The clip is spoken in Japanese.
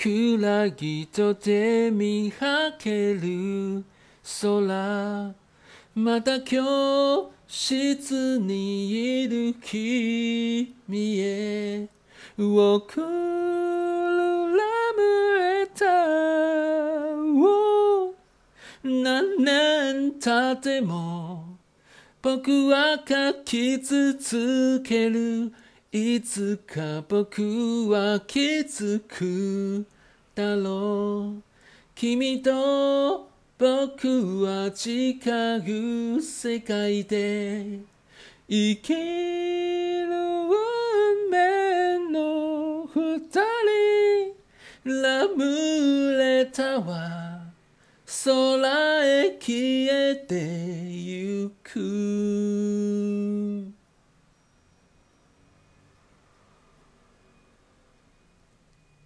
暗ぎとて見はける空また教室にいる君へ送るラブレターを何年経っても僕は書き続けるいつか僕は気づくだろう君と僕は違う世界で生きる運命の二人ラブレターは空へ消えてゆく